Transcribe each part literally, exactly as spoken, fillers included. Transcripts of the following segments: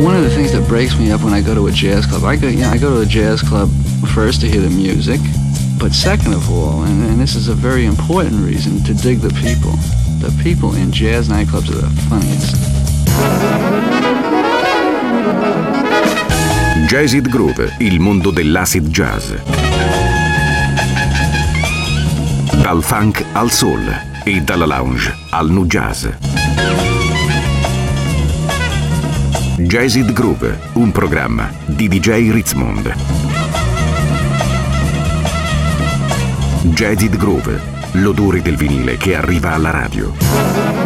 one of the things that breaks me up when I go to a jazz club, I go, you know, I go to a jazz club first to hear the music, but second of all, and, and this is a very important reason, to dig the people. The people in jazz nightclubs are the funniest. Jazzid Groove, il mondo dell'acid jazz. Dal funk al soul e dalla lounge al nu jazz. Jazzid Groove, un programma di D J Ritzmond. Jazzid Groove, l'odore del vinile che arriva alla radio.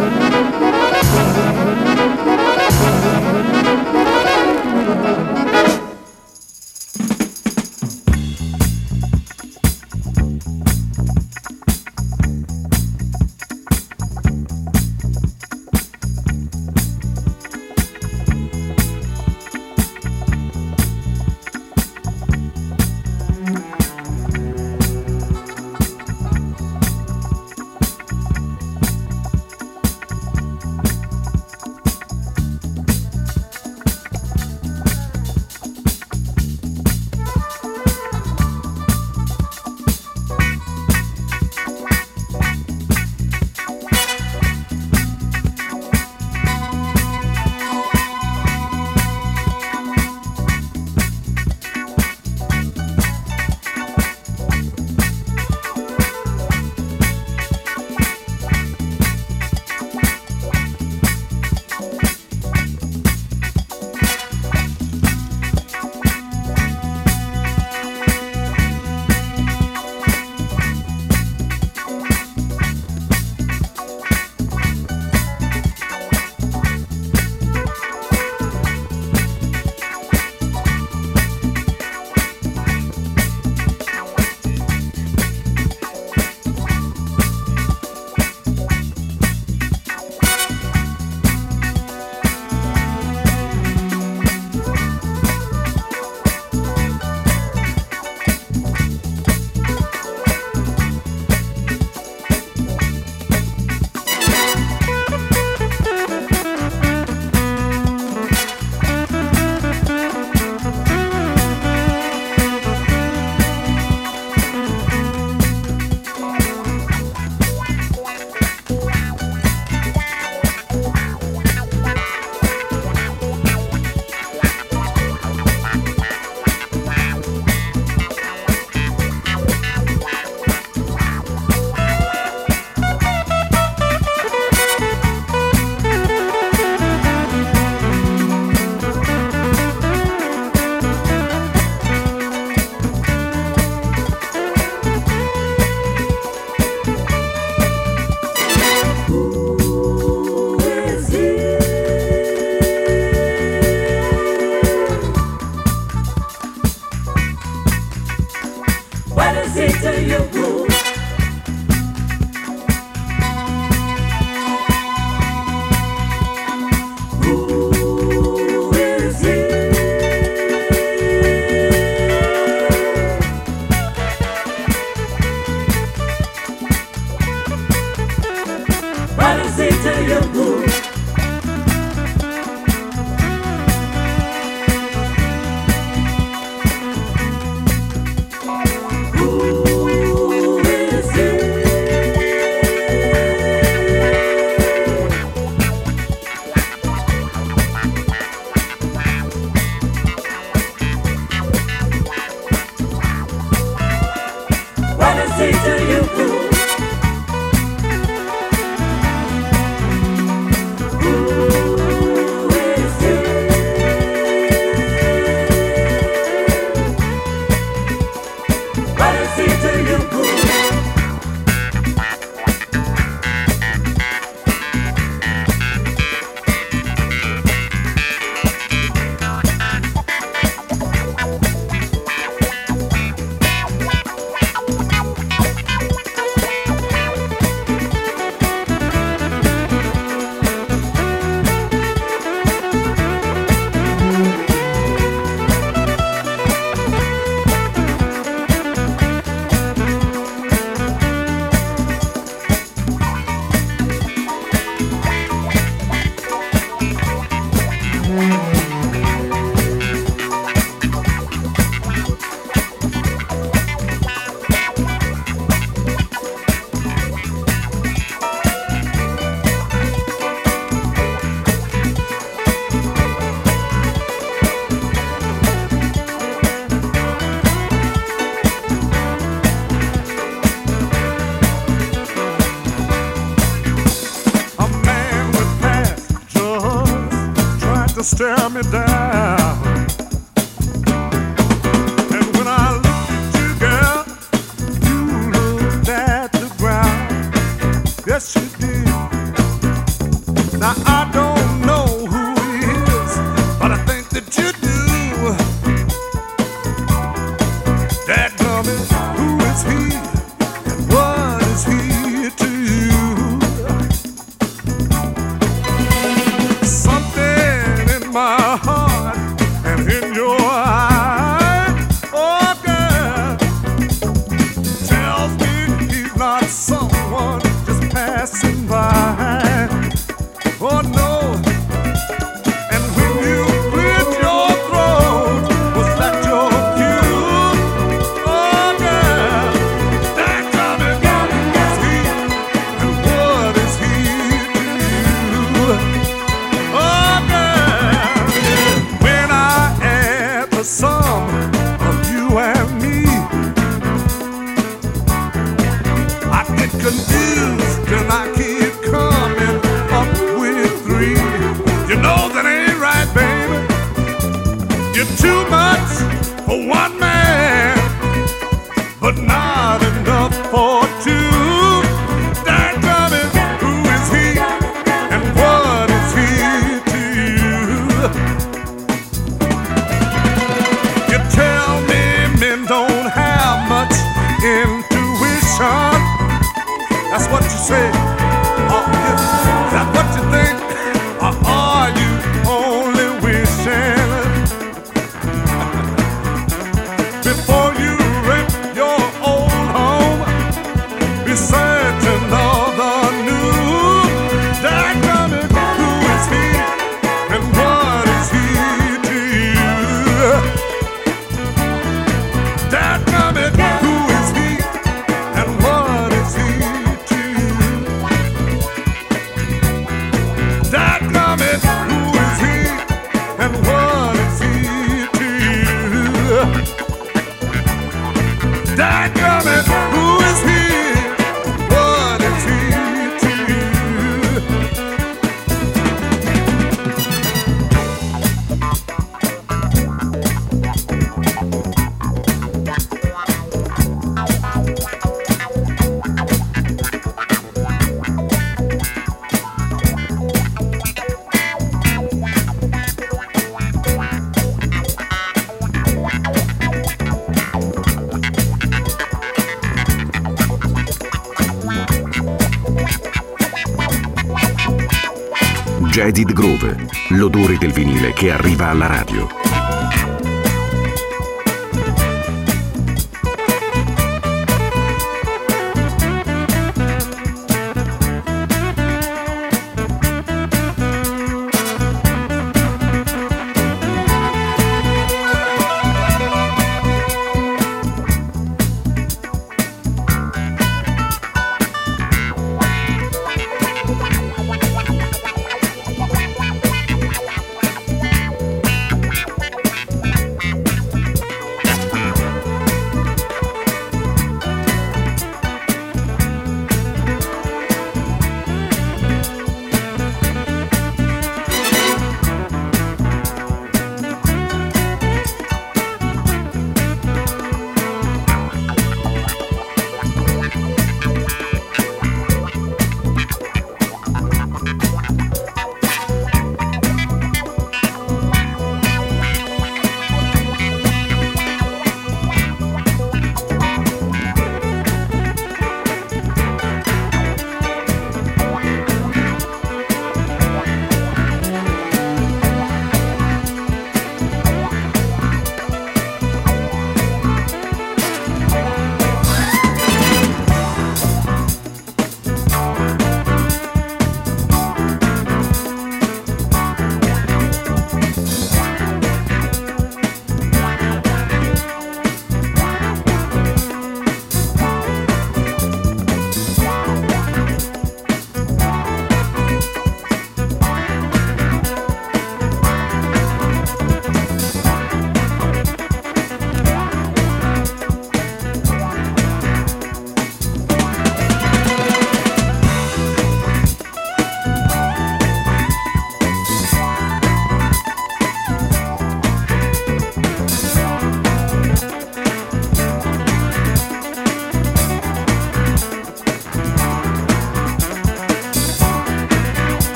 stare me down. And when I looked at you, girl, you looked at the ground. Yes, you did. Now I don't know who he is, but I think that you do. Dadgummit, who is he? And what is he to you? Something in my heart and in your eye, oh girl, tells me he's not someone just passing by. Oh no. And when you cleared your throat, was that your cue? Oh girl, dadgummit, who is he? And what is he to you? Oh girl, when I add the sum of you and me, I get confused and I keep coming up with three. You know that ain't right, baby. You're too much for one man, but not enough for two. Dadgummit, who is he and what is he to you? You tell me men don't have much intuition. That's what you say. Oh, yeah. Is that what you think? Or are you only wishing? Before you rent your old home, be certain of the new. Dadgummit, who is he and what is he to you? Dadgummit, who is he and what is he to you? Dadgummit, who is he and what is he to you? Dadgummit, who is he? What is he to you? Jaded Groove, l'odore del vinile che arriva alla radio.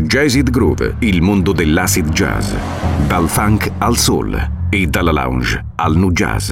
Jazzed Groove, il mondo dell'acid jazz. Dal funk al soul e dalla lounge al nu jazz.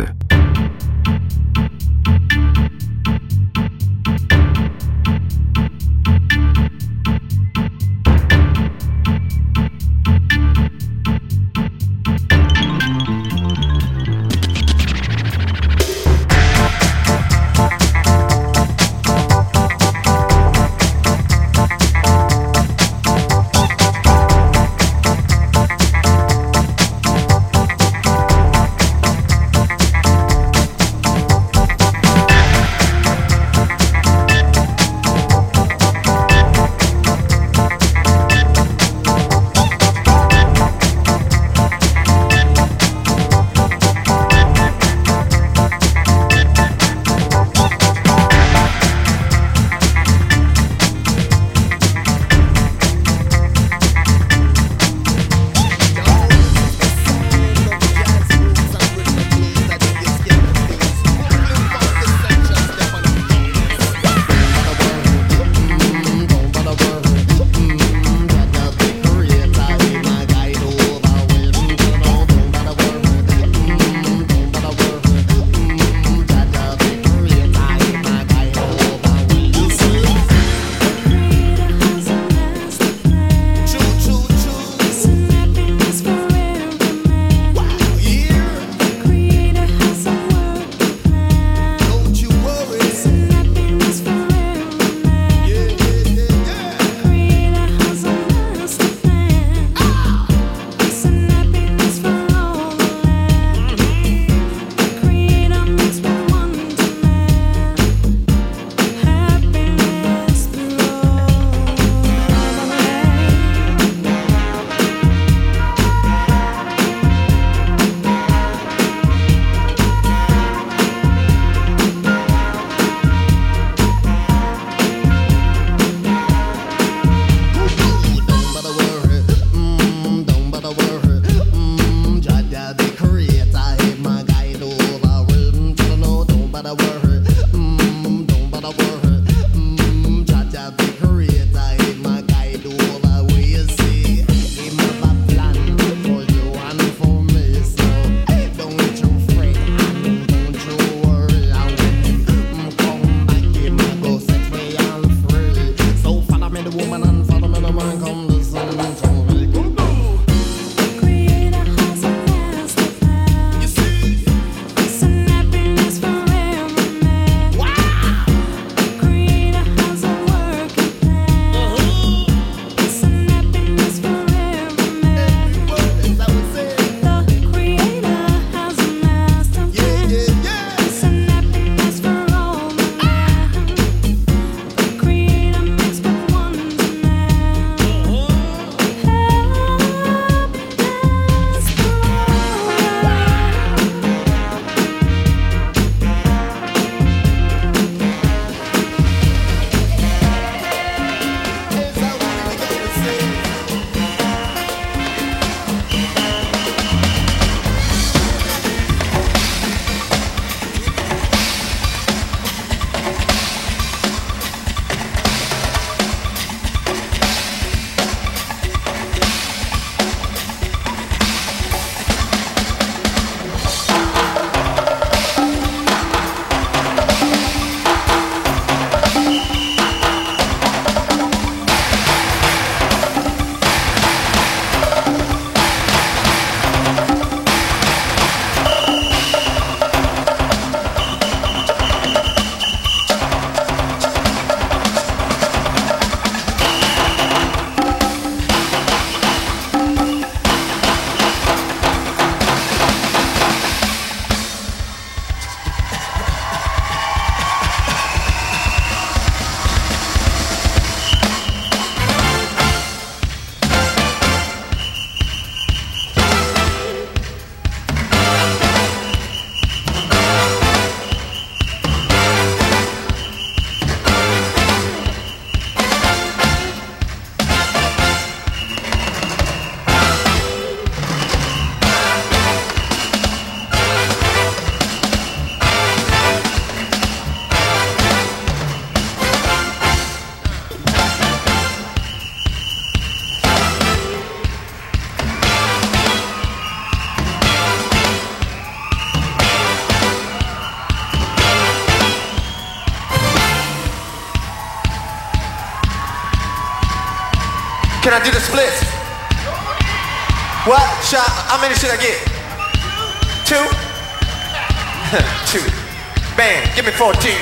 splits. What? Shot? How many should I get? Two? Two. Bam, give me fourteen.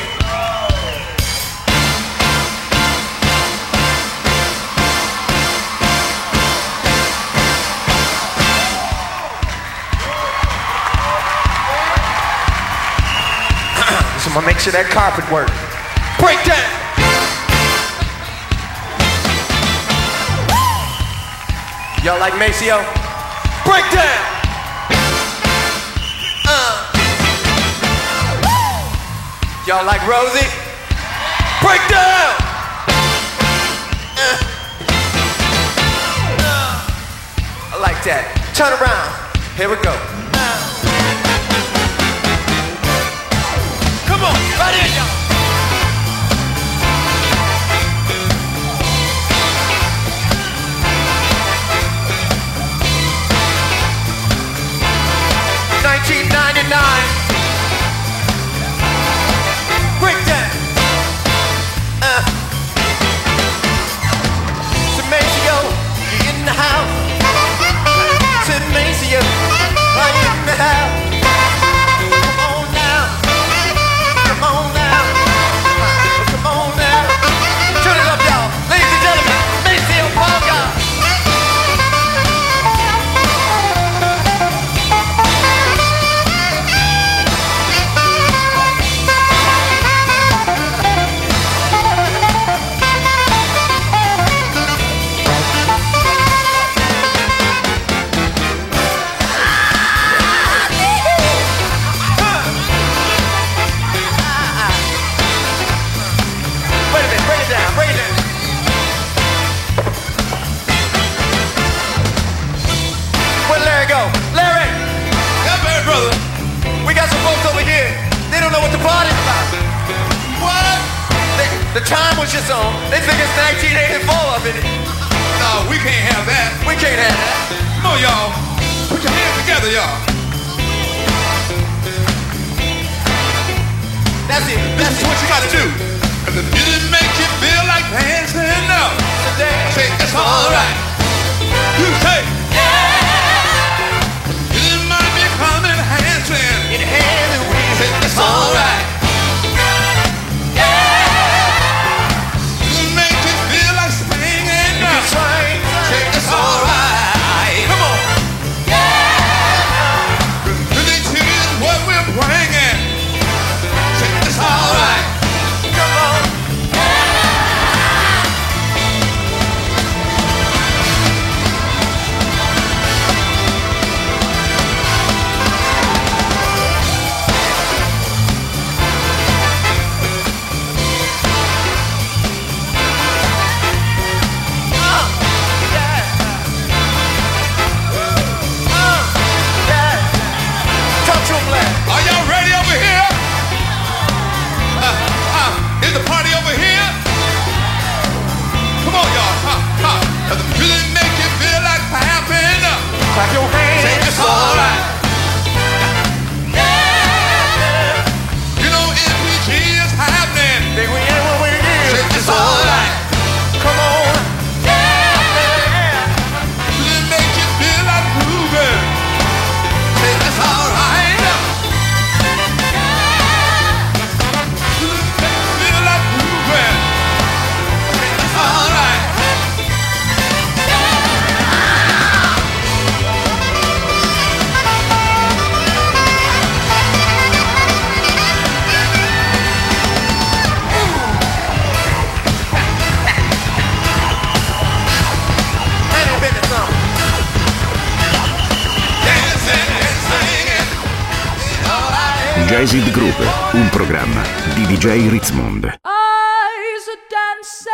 So I'm gonna make sure that carpet works. Break down! Y'all like Maceo? Break down! Uh. Y'all like Rosie? Break down! Uh. Uh. I like that. Turn around. Here we go. Uh. Come on, right in, y'all. nineteen ninety-nine. Breakdown. Uh. Said Maceo, you in the house. Said Maceo, are you in the house? Come on now. Come on now. Come on now. Turn it up, y'all. Ladies and gentlemen, Maceo Parker. The time was just on. They think it's nineteen eighty-four up in it. No, we can't have that. We can't have that. Come on, y'all. Put your hands together, y'all. That's it. This is what you gotta do. If the music makes you feel like dancing up, say it's alright. You say, yeah. Music might be coming dancing. In the hand and we say it's alright. It's alright. Come on. Yeah. Really choose what we're bringing. It's alright. Come on. Are y'all ready over here? Uh, uh, is the party over here? Come on, y'all. Uh, uh, does it really make you feel like clapping? Clap your hands. Say it's alright. Yeah. You know M P G is happening. Think we ain't what we do. Say it's alright. Come on. Yeah. Really make you feel like moving. Say it's alright. Jazzed Groove, un programma di D J Ritzmond. Eyes are dancing.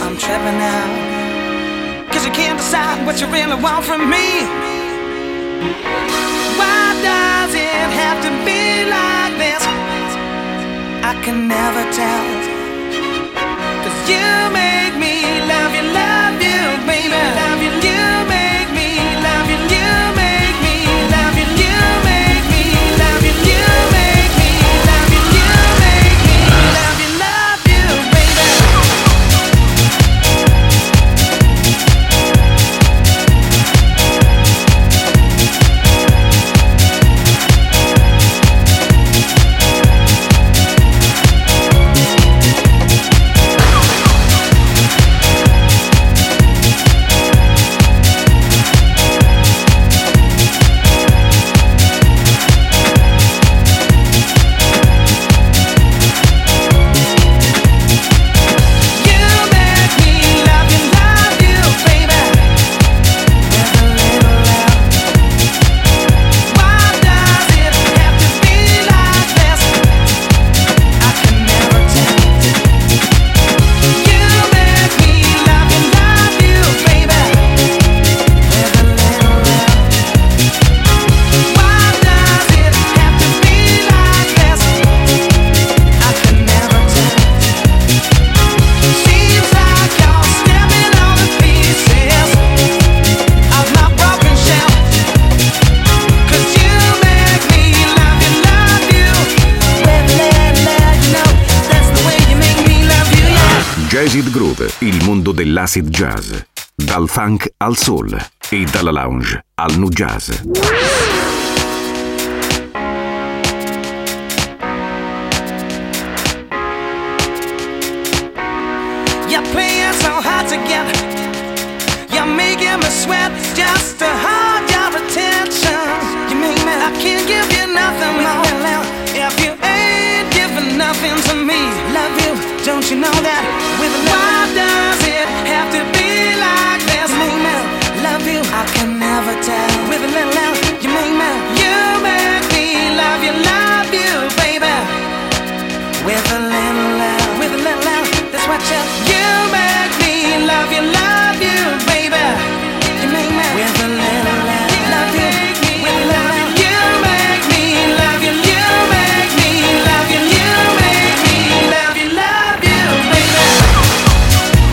I'm tripping out. Cause you can't decide what you really want from me. Why does it have to be like this? I can never tell. Cause you make me love you, love you, baby. Love you, you make me love you, you make me love you, you make me love you, you make me love you, you make me love you, love you, baby. Jazzid Groove, il mondo dell'acid jazz. Dal funk al soul e dalla lounge al nu jazz. You're playing so hard together. You're making me sweat just to hold your attention. You make me, I can't give you nothing more. If you ain't giving nothing to me, love you, don't you know that? With why does it have to be like this? You make me love you, I can never tell. With a little love, you make me, you make me love you, love you, baby. With a little love, with a little love, that's what you, you make me love you, love you, baby. You make me with a little love, love you, with a little love. You make me love you, you make me love you, you make me love you, love you, baby.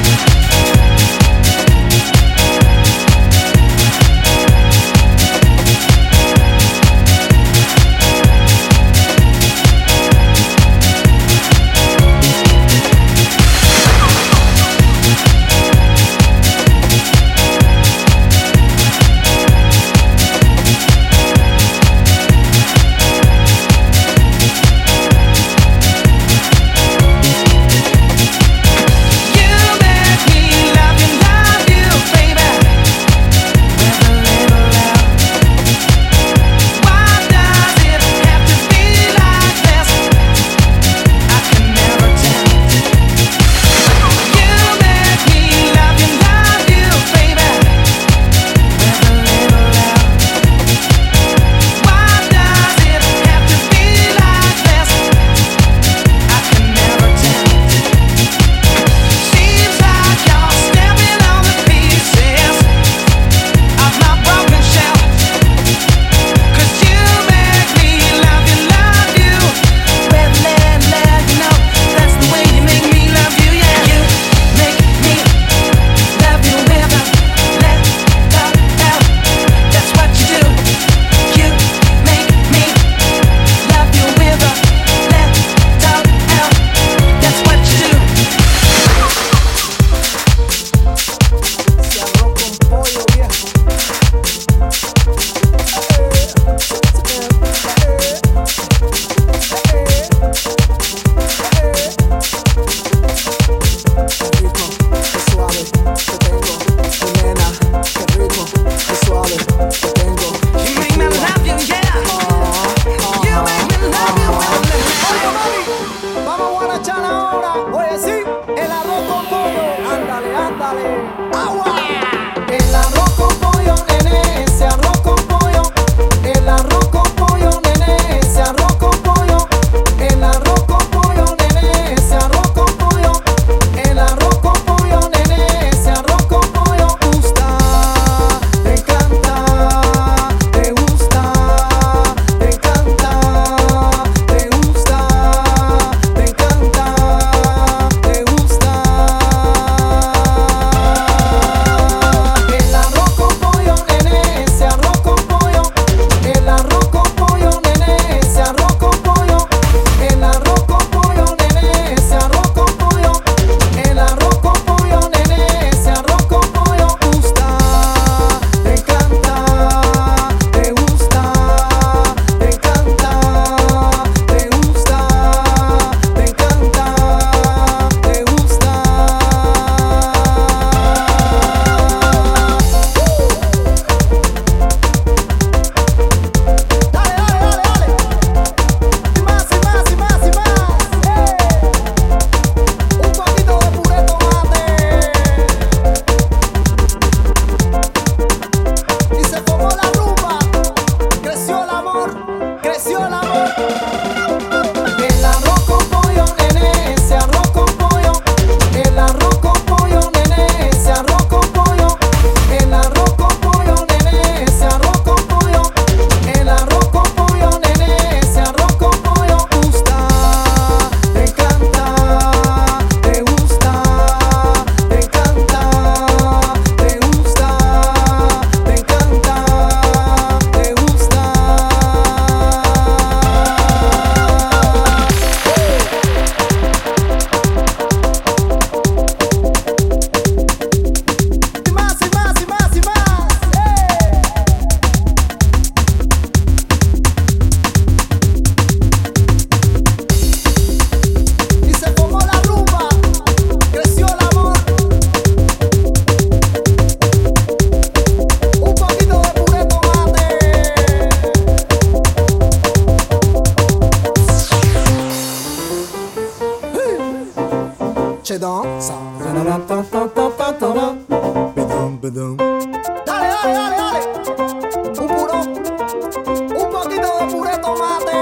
pollo. Dale, dale, dale, dale. Un puro, un poquito de puré de tomate.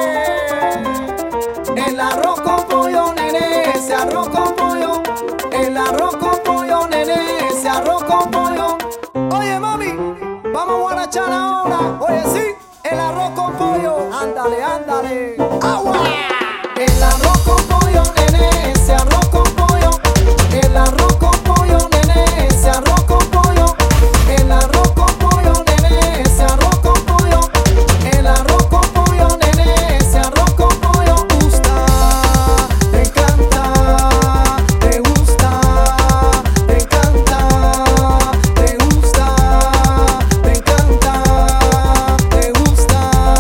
El arroz con pollo, nene, ese arroz con pollo. El arroz con pollo, nene, ese arroz con pollo. Oye, mami, vamos a guarachar ahora. Oye, sí, el arroz con pollo. Ándale, ándale. ¡Agua! El arroz con pollo, nene, ese arroz con pollo. El arroz con pollo, nene, ese arroz con pollo. El arroz con pollo, nene, ese arroz con pollo. El arroz con pollo, nene, ese arroz con pollo. Gusta, te encanta, te gusta, te encanta, te gusta, te encanta, te gusta.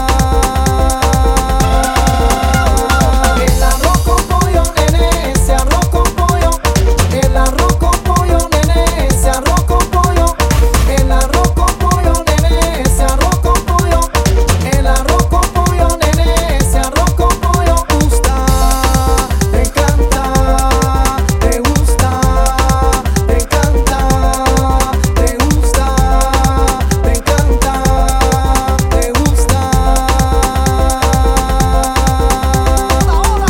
El arroz con pollo, nene, ese arroz con pollo. El arroz con pollo, nene, ese arroz con pollo. El arroz con pollo, nene, ese arroz con pollo. El arroz con pollo, nene, ese arroz con pollo. Gusta, te encanta, te gusta, te encanta, te gusta, te encanta, te gusta. Ahora.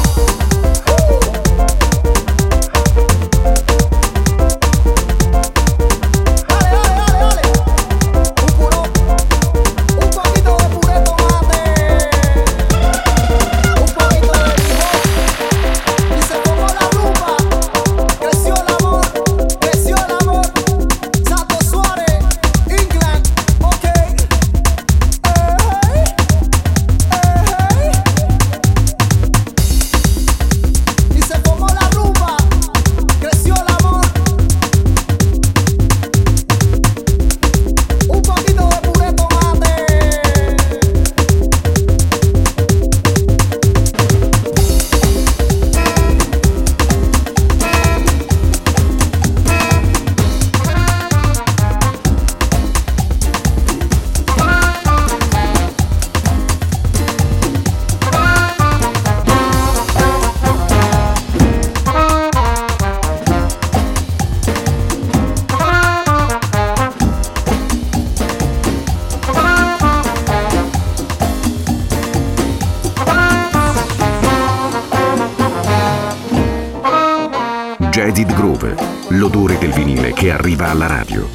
Dale, dale, dale, dale. Un puro, un poquito de puré de tomate. Un poquito de limón. Y se formó la rumba. Creció el amor, creció el amor. Santo Suárez, England, ok. Ey, ey. Y se formó la rumba. Creció el amor. Un poquito de puré de tomate. Jazzed Groove, l'odore del vinile che arriva alla radio.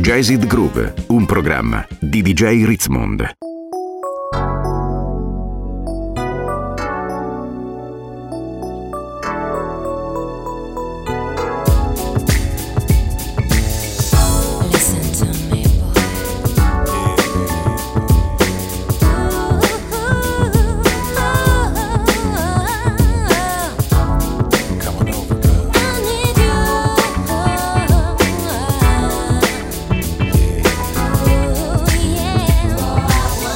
Jazzed Groove, un programma di D J Ritzmond. Ooh, yeah.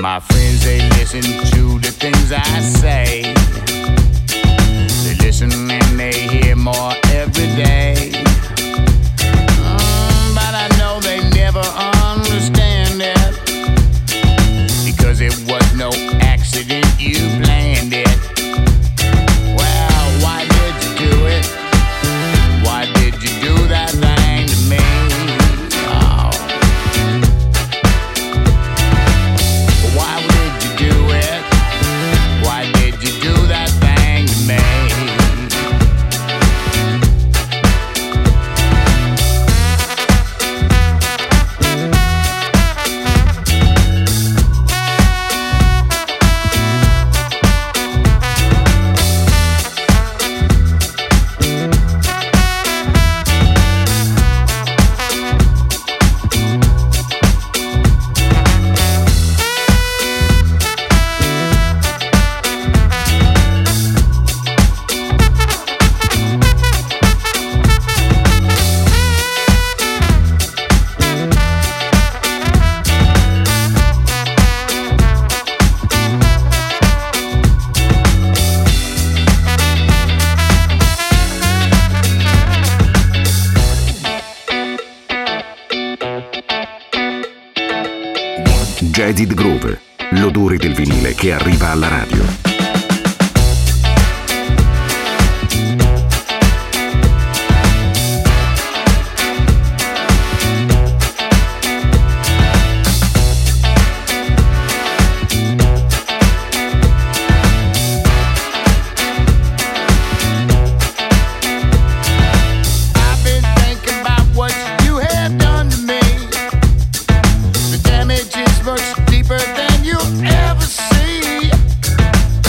My friends, they listen to the things I say. They listen and they hear more every day. Mm, but I know they never understand it, because it was no accident, you planned it. Well, why did you do it? Why did you do that thing to me? Oh. Why did you do it? Why did you do that thing to me? Jazzed Groove, l'odore del vinile che arriva alla radio. Much deeper than you ever see.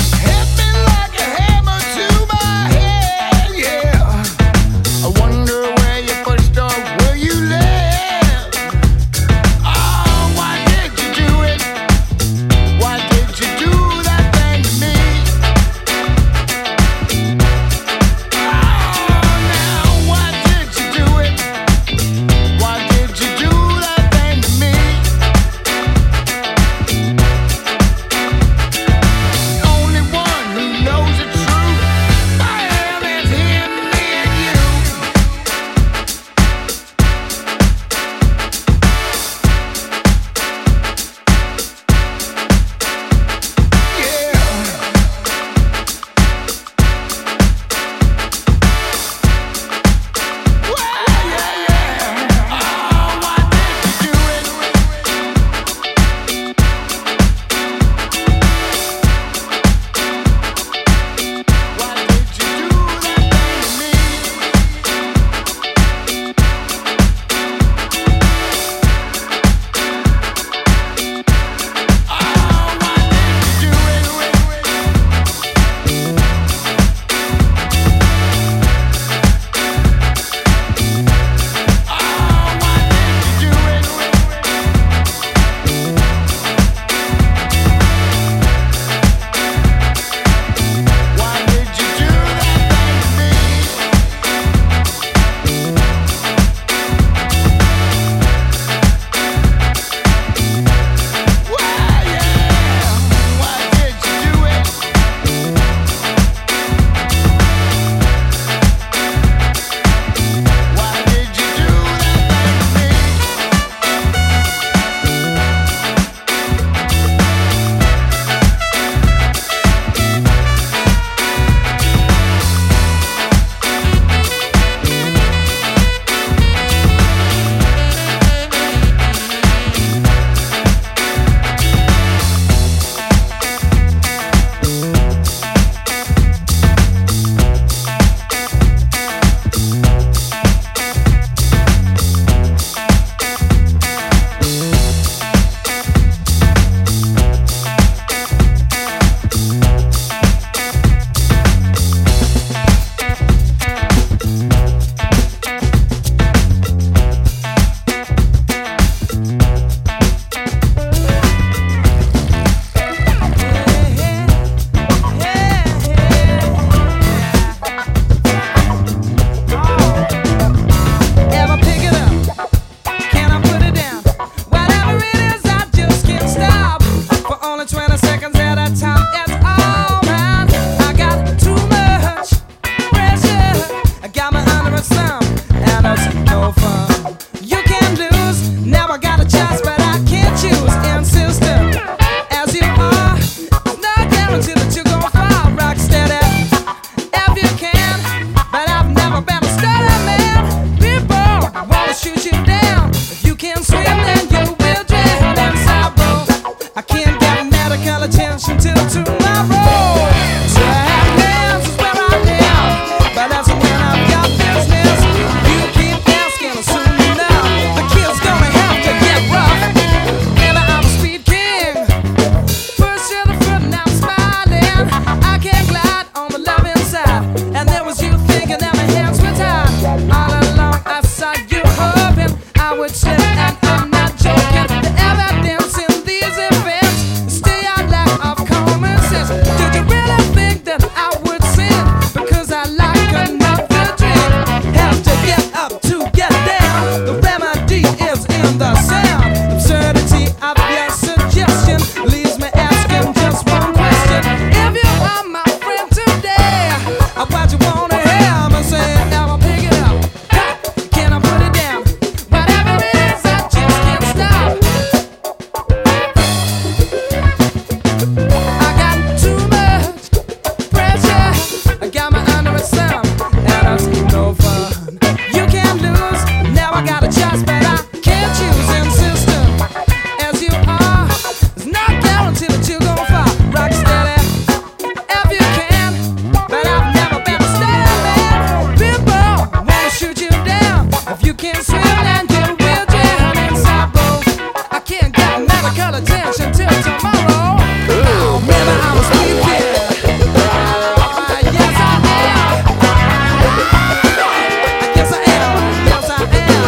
would slip, and I'm not joking. The evidence in these events stay out lack of common sense. Did you really think that I would sin because I like another drink? Have to get up to get down. The remedy is in the sound. Absurdity of your suggestion leaves me asking just one question. If you are my friend today, what you wanna hear me say? I'ma pick it up. Can I put it down? Whatever it is, I just can't stop. I got too much pressure. I got my under a thumb, and it's no fun. You can't lose. Now I got a choice, but I can't choose. Insistent as you are, it's not guaranteed that you gon' fall. Rock steady if you can, but I've never been a steady man. People wanna shoot you down if you can't swim, and you will drown inside both. I can't get medical attention till tomorrow. Oh, maybe I'm a sweet kid. Yes, I am. Yes, I am. Yes, I am.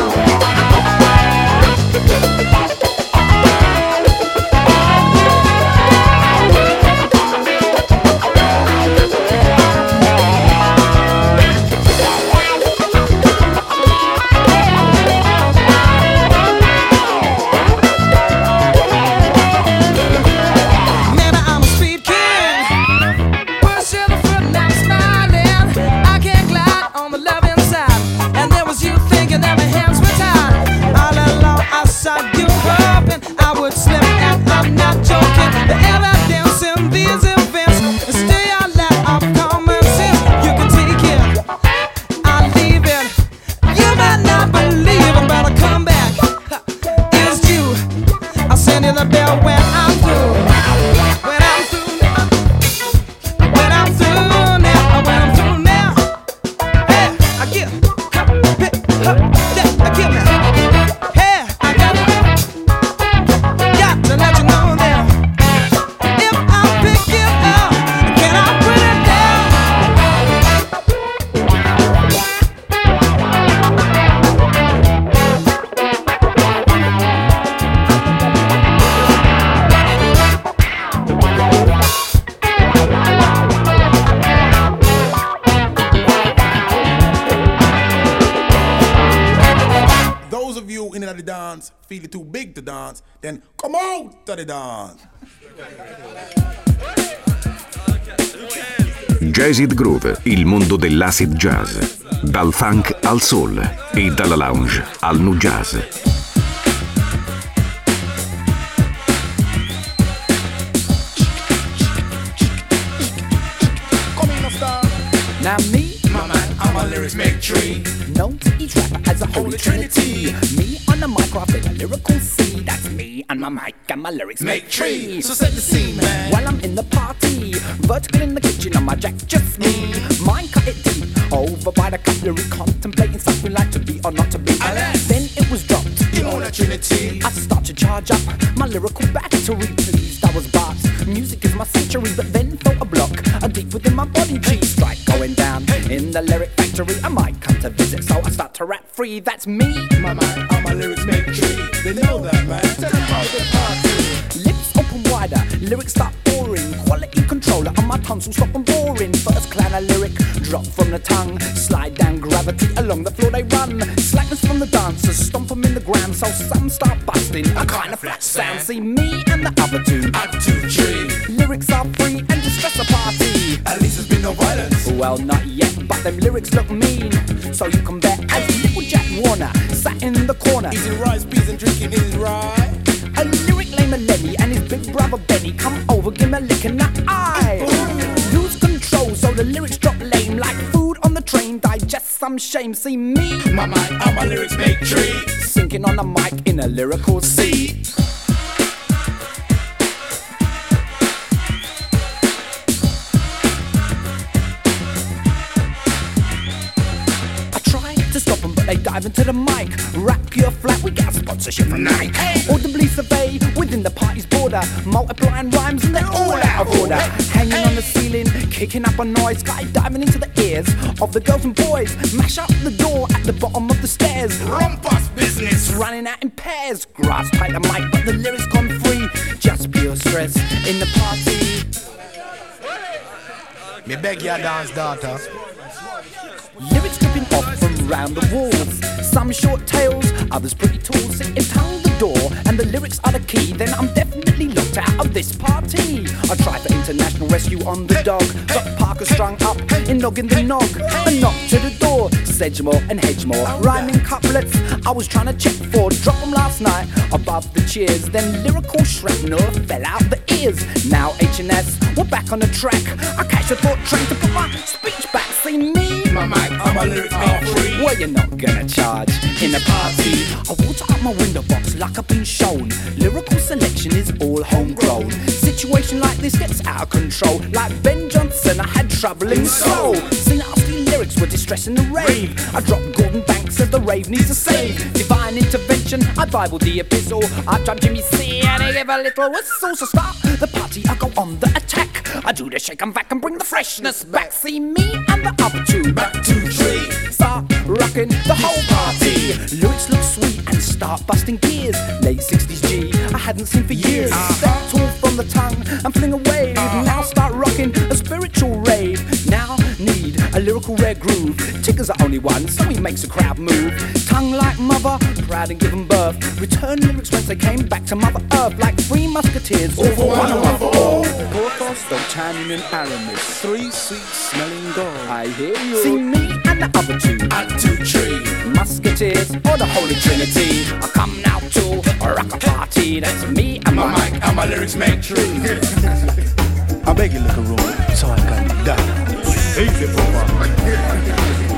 Maybe I'm a speed king. Pushing the foot and I'm smiling. I can't glide on the loving side. And there was you thinking that my hands were tied. All along I saw you hoping I would slip, and I'm not joking. The evidence in these events is stay out lack of common sense. You can take it, I'll leave it. You might not believe it, but I'll come back. It's you. I'll send you the bell when I'm through. When I'm through now. When I'm through now. When I'm through now. Hey, I give. Huh, hey, huh, yeah, I give now. Hey, I got got to let you know now. If I pick you up, can I put it down? Those of you in the dance feeling too big to dance, then come out to the dance. Jazzed Groove, il mondo dell'acid jazz. Dal funk al soul e dalla lounge al nu jazz. Now me, My man, I'm a lyrics make tree. known to each rapper as a holy trinity. Me on the mic, I a lyrical C. That's me and my mic and my lyrics Make tree. So set the scene, man. While I'm in the party, vertical in the kitchen on my jack, just me. Mine cut it deep, over by the cutlery, contemplating something like to be or not to be. Alas. Then it was dropped. You own a trinity. I start to charge up my lyrical battery. Pleased I was bars. Music is my sanctuary, but then felt a block, a deep within my body. G strike going down in the lyric factory. I might come to visit, so I start to rap free. That's me. My man, I'm a lyrics make tree. They know that, man. Tell them how the party. Lips open wider, lyrics start pouring. Quality controller on my tongue, so stop them boring. First clan a lyric, drop from the tongue. Slide down gravity, along the floor they run. Slackness from the dancers, stomp them in the ground. So some start busting, a kind of flat sound. See me and the other two, Up to tree. lyrics are free and just stress a party. At least there's been no violence. Well, not yet, but them lyrics look mean. So you can bet as little Jack Warner sat in the corner. Eating rice, peas and drinking his rye. A lyric named Lenny and his big brother Benny come over, give me a lick in the eye. Lose control, so the lyrics drop lame like food on the train. Digest some shame. See me, My man, I'm a lyrics make tree. sinking on a mic in a lyrical sea. I try to stop them, but they dive into the mic. Rap pure flat, we get a sponsorship from Nike. Audibly survey within the party's border. disorder, multiplying rhymes and they're all out of order. Hanging on the ceiling, kicking up a noise, skydiving into the ears of the girls and boys. Mash up the door at the bottom of the stairs. Rumpus business, running out in pairs. Grasp tight the mic, but the lyrics gone free. Just pure stress in the party. Me beg your dance, daughter. Lyrics dripping off from round the walls. Some short tales, others pretty tall. Sitting tongue the door, and the lyrics are the key. Then I'm definitely locked out of this party. I tried for international rescue on the dog, got Parker strung up in noggin the nog. A knock to the door, Sedgemore and Hedgemore, rhyming couplets I was trying to check for. Drop them last night above the cheers. Then lyrical shrapnel fell out the ears. Now H and S, we're back on the track. I catch the thought train to put my speech back. See me, my mic, I'm my lyrics all free. Well, you're not gonna charge in a party. I water up my window box like I've been shown. Lyrical selection is all homegrown. Situation like this gets out of control. Like Ben Johnson, I had troubling soul. See, nasty lyrics were distressing the rave. I dropped Gordon Banks as the rave needs a save. Divine intervention, I Bible the epistle. I drum Jimmy C and I give a little whistle. So start the party, I go on the attack. I do the shake and back and bring the freshness back. See me and the other two, back to tree. Start rocking the whole party. Lyrics look sweet and start busting gears. Late sixties G, I hadn't seen for years. Step tall from the tongue and fling a wave. Now start rocking a spiritual rave. Now need a lyrical rare groove. Tigger's the only one, so he makes the crowd move. Tongue like mother, proud and given birth. Return lyrics once they came back to Mother Earth. Like three musketeers, all for one and one for all. Porthos, D'Artagnan and Aramis, three sweet smelling gold. I hear you. See me and the other two, at two tree. Musketeers or the Holy Trinity. I come now to rock a party. That's me and my, my mic and my lyrics make true. I beg you, little room, so I can die. Easy for one.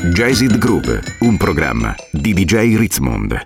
Jazzed Groove, un programma di D J Ritzmond.